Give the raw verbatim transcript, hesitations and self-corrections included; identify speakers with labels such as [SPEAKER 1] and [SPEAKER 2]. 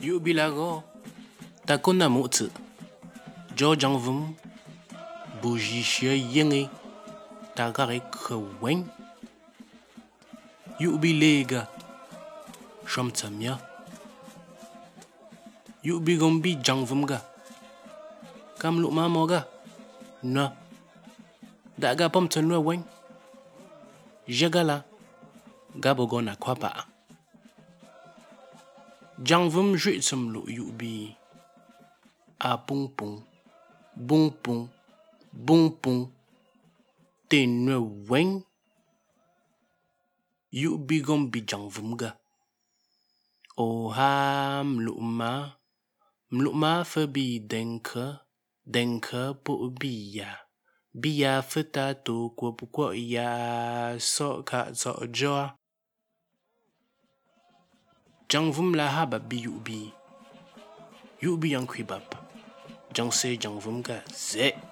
[SPEAKER 1] Yu bilago takona mutsu Jojang vum bujishia yenge tagare kwen Yu bilega Shomtsamya Yu bigombi jangvumga Kamlu mamoga Na Daga pomtanwa wen Jagala Gabogona kwapa Jangvum jitsum lu yubi A pung pung Bung pung Bung pung Tenwe wen Yubi gombi jangvumga O ha mluma Mluma fabi denke Denke po biya Biya feta to kwa kwa ya So ka so joa Jangvum la haba bi yubi Yubi yang kwibab Jangse jangvum ga ze